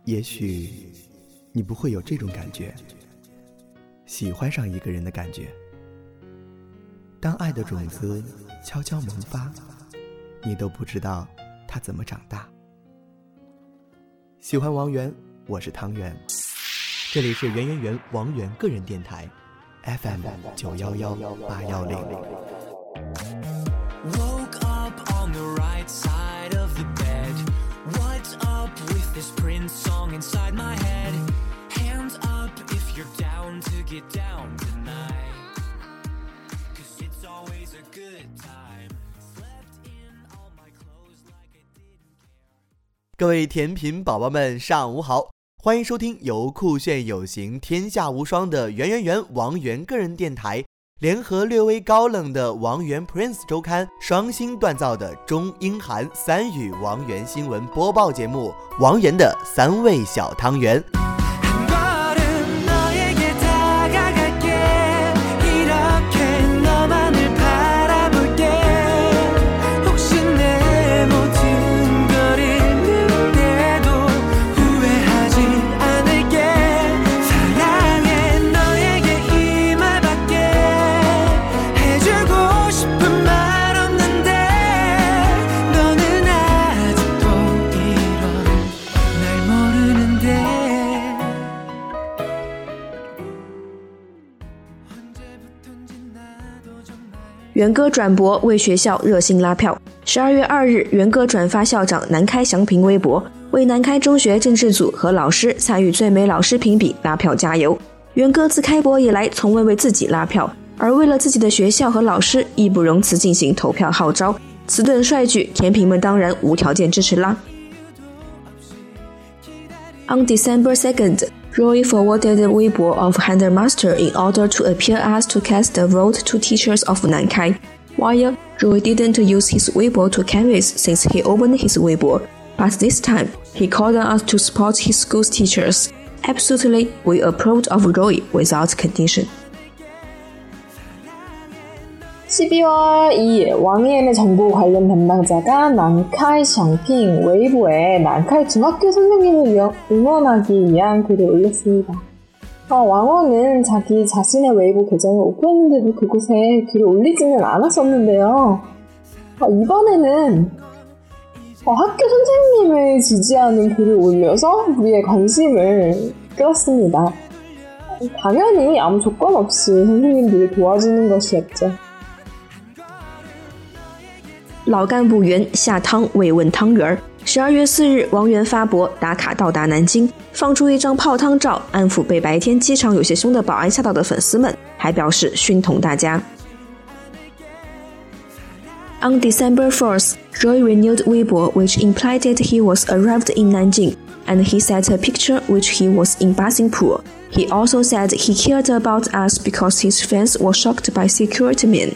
也许你不会有这种感觉，喜欢上一个人的感觉。当爱的种子悄悄萌发，你都不知道它怎么长大。喜欢王源，我是汤圆，这里是圆圆圆王源个人电台 FM 911810。 Woke up on the right side of the bed. What's up with this Prince song inside my head? Hands up if you're down to get down tonight. 'Cause it's always a good time. Slept in all my clothes like I didn't care. 各位甜品宝宝们上午好，欢迎收听由酷炫有型天下无双的圆圆圆王源个人电台联合略微高冷的王源 Prince 周刊双星锻造的中英韩三语王源新闻播报节目王源的三味小汤圆。 元歌转博为学校热心拉票。12月2日，元歌转发校长南开祥平微博，为南开中学政治组和老师参与最美老师评比拉票加油。元歌自开博以来从未为自己拉票，而为了自己的学校和老师义不容辞进行投票号召，此等帅举，甜品们当然无条件支持啦。On December 2nd, Roy forwarded the Weibo of Hunter Master in order to appear asked to cast a vote to teachers of Nankai. While Roy didn't use his Weibo to canvass since he opened his Weibo, but this time he called on us to support his school's teachers. Absolutely, we approved of Roy without condition. 12월 2일 왕위엔의 정보 관련 담당자가 난카이 샹핑 웨이보에 난카이 중학교 선생님을 응원하기 위한 글을 올렸습니다. 왕원은 자기 자신의 웨이보 계정을 오픈했는데도 그곳에 글을 올리지는 않았었는데요. 이번에는 학교 선생님을 지지하는 글을 올려서 우리의 관심을 끌었습니다. 당연히 아무 조건 없이 선생님들을 도와주는 것이었죠. 老干部袁下汤慰问汤圆。12月4日，王源发博打卡到达南京，放出一张泡汤照，安抚被白天机场有些凶的保安吓到的粉丝们，还表示熏同大家。On December 4th, Roy renewed Weibo, which implied that he was arrived in Nanjing, and he set a picture which he was in bathing pool. He also said he cared about us because his fans were shocked by security men.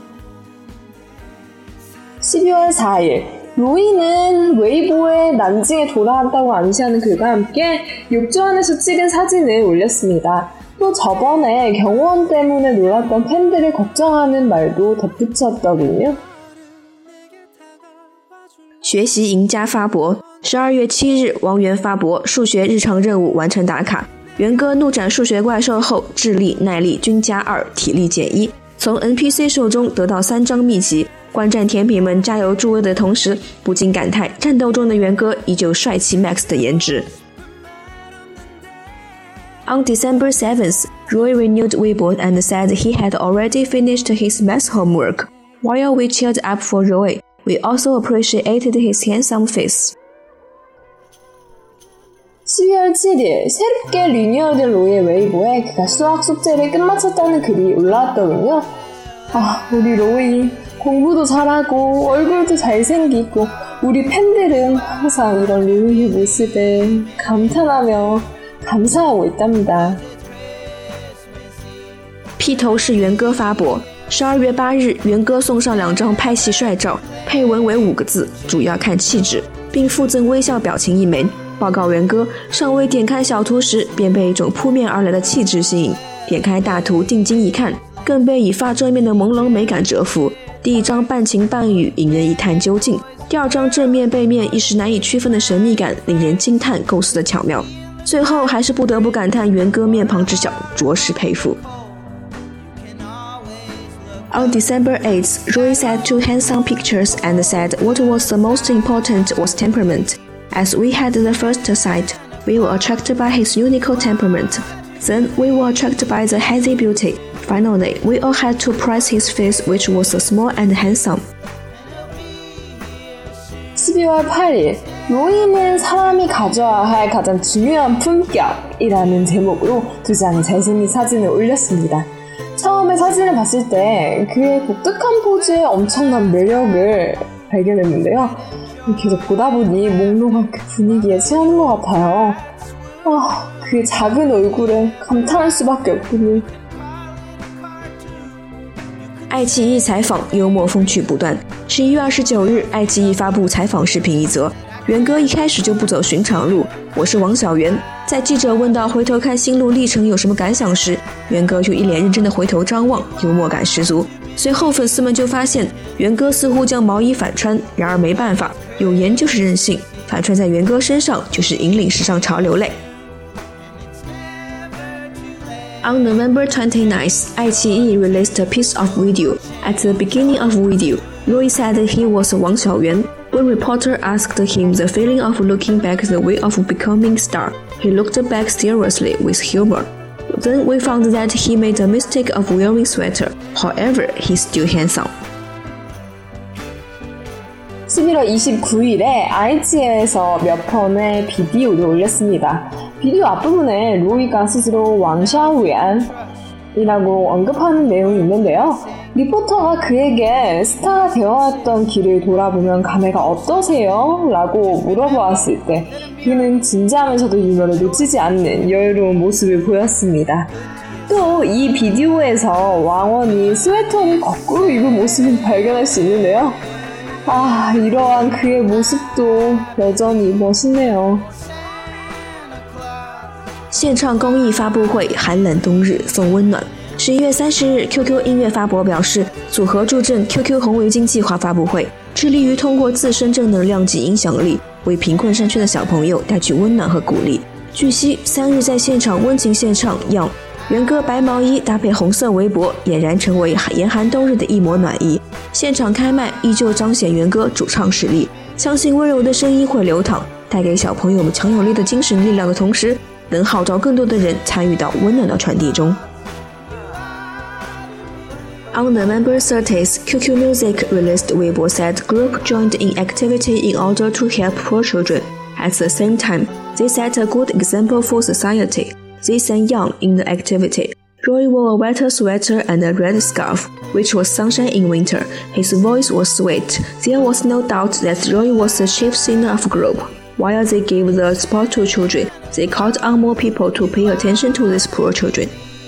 12월 4일, 로이는 웨이보에 난징에 돌아왔다고 암시하는 글과 함께 욕조 안에서 찍은 사진을 올렸습니다. 또 저번에 경호원 때문에 놀랐던 팬들을 걱정하는 말도 덧붙였더군요. 学习赢家发博。12月7日，王源发博数学日常任务完成打卡。元歌怒斩数学怪兽后，智力、耐力均+2，体力减1，从 NPC 手中得到3张秘籍。观战甜品们加油助威的同时，不禁感叹战斗中的元歌依旧帅气 max 的颜值。On December 7th, Roy renewed Weibo and said he had already finished his math homework. While we cheered up for Roy, we also appreciated his handsome face. 12월 7일, 새롭게 리뉴얼된 로이의 웨이보에 그가 수학 숙제를 끝마쳤다는 글이 올라왔더군요. 우리 로이 공부도 잘하고 얼굴도 잘생기고 우리 팬들은 항상 이런 로이의 모습에 감탄하며 감사하고 있답니다. 披头是元歌发博。12月8日，元歌送上2张拍戏帅照，配文为5个字，主要看气质，并附赠微笑表情1枚。报告元歌尚未点开小图时，便被一种扑面而来的气质吸引，点开大图定睛一看，更被以发遮面的朦胧美感折服。 第一章半情半语，引人一探究竟；第二章正面背面一时难以区分的神秘感，令人惊叹构思的巧妙。最后还是不得不感叹元歌面庞之小，着实佩服。On December 8th, Roy sat to handsome pictures and said what was the most important was temperament. As we had the first sight, we were attracted by his unique temperament. Then we were attracted by the hazy beauty. Finally, we all had to praise his face, which was small and handsome. 12월 8일, 로이는 사람이 가져야 할 가장 중요한 품격이라는 제목으로 2장의 잘생긴 사진을 올렸습니다. 처음에 사진을 봤을 때 그의 독특한 포즈에 엄청난 매력을 발견했는데요. 계속 보다 보니 몽롱한 그 분위기에 취하는 것 같아요. 그의 작은 얼굴에 감탄할 수밖에 없군요. 爱奇艺采访幽默风趣不断。11月29日，爱奇艺发布采访视频一则。元歌一开始就不走寻常路，我是王小元。在记者问到回头看心路历程有什么感想时，元歌就一脸认真的回头张望，幽默感十足。随后粉丝们就发现，元歌似乎将毛衣反穿，然而没办法，有颜就是任性，反穿在元歌身上就是引领时尚潮流类。On November 29th, 爱奇艺 released a piece of video. At the beginning of video, Roy said he was Wang Xiaoyuan. When reporter asked him the feeling of looking back the way of becoming star, he looked back seriously with humor. Then we found that he made a mistake of wearing sweater. However, he's still handsome. 11월 29일에 IGN에서 몇 편의 비디오를 올렸습니다. 비디오 앞부분에 로이가 스스로 왕샤우얀이라고 언급하는 내용이 있는데요. 리포터가 그에게 스타가 되어왔던 길을 돌아보면 감회가 어떠세요? 라고 물어보았을 때 그는 진지하면서도 유머를 놓치지 않는 여유로운 모습을 보였습니다. 또 이 비디오에서 왕원이 스웨터를 거꾸로 입은 모습을 발견할 수 있는데요. 이러한 그의 모습도 여전히 멋있네요. 现唱公益发布会，寒冷冬日送温暖。11月30日 ，QQ 音乐发博表示，组合助阵 QQ 红围巾计划发布会，致力于通过自身正能量及影响力，为贫困山区的小朋友带去温暖和鼓励。据悉，3日在现场温情献唱《样》，元歌白毛衣搭配红色围脖，俨然成为严寒冬日的一抹暖意。现场开麦依旧彰显元歌主唱实力，相信温柔的声音会流淌，带给小朋友们强有力的精神力量的同时，能号召更多的人参与到温暖的传递中。On November 30th, QQ Music released Weibo said group joined in activity in order to help poor children. At the same time, they set a good example for society. They sang Young in the activity. Roy wore a white sweater and a red scarf, which was sunshine in winter. His voice was sweet. There was no doubt that Roy was the chief singer of group. While they gave the spot to children, they called on more people to pay attention to these poor children.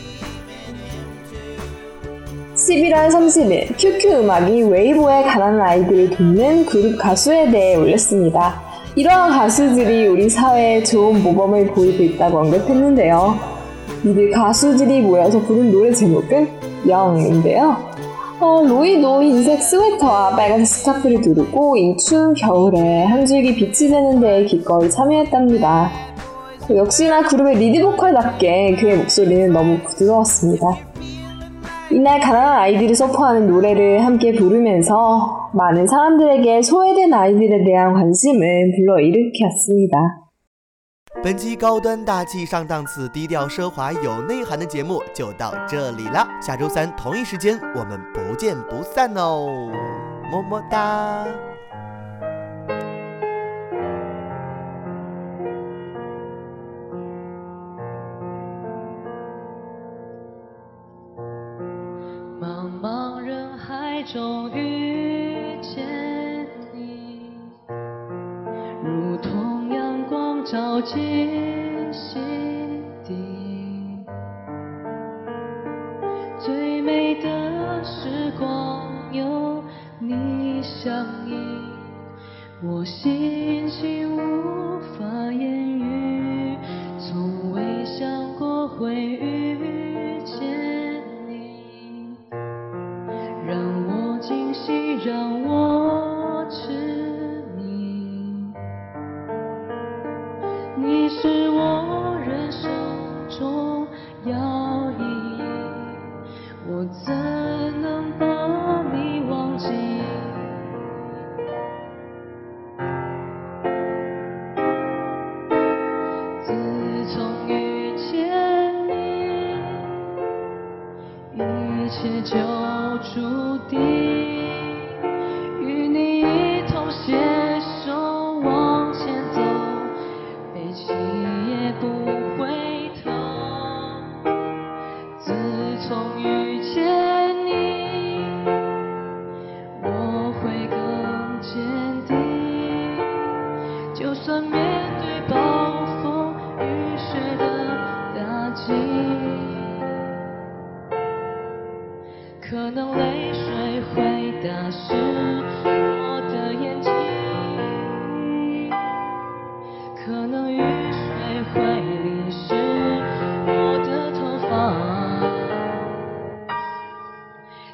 11월 30일 QQ 음악이 웨이보에 가난한 아이들을 돕는 그룹 가수에 대해 올렸습니다. 이러한 가수들이 우리 사회에 좋은 모범을 보이고 있다고 언급했는데요. 이들 가수들이 모여서 부른 노래 제목은 영인데요. 로이도 흰색 스웨터와 빨간색 스카프를 두르고 이 추운 겨울에 한 줄기 빛이 되는 데에 기꺼이 참여했답니다. 역시나 그룹의 리드보컬답게 그의 목소리는 너무 부드러웠습니다. 이날 가난한 아이들이 서포하는 노래를 함께 부르면서 많은 사람들에게 소외된 아이들에 대한 관심을 불러일으켰습니다. 本期高端大气上档次、低调奢华有内涵的节目就到这里了。下周三同一时间，我们不见不散哦！么么哒。 茫茫人海中遇见你，如同阳光照进心底，最美的时光有你相依，我心情无法言喻，从未想过会遇见你，让我惊醒。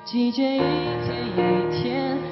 季节一天一天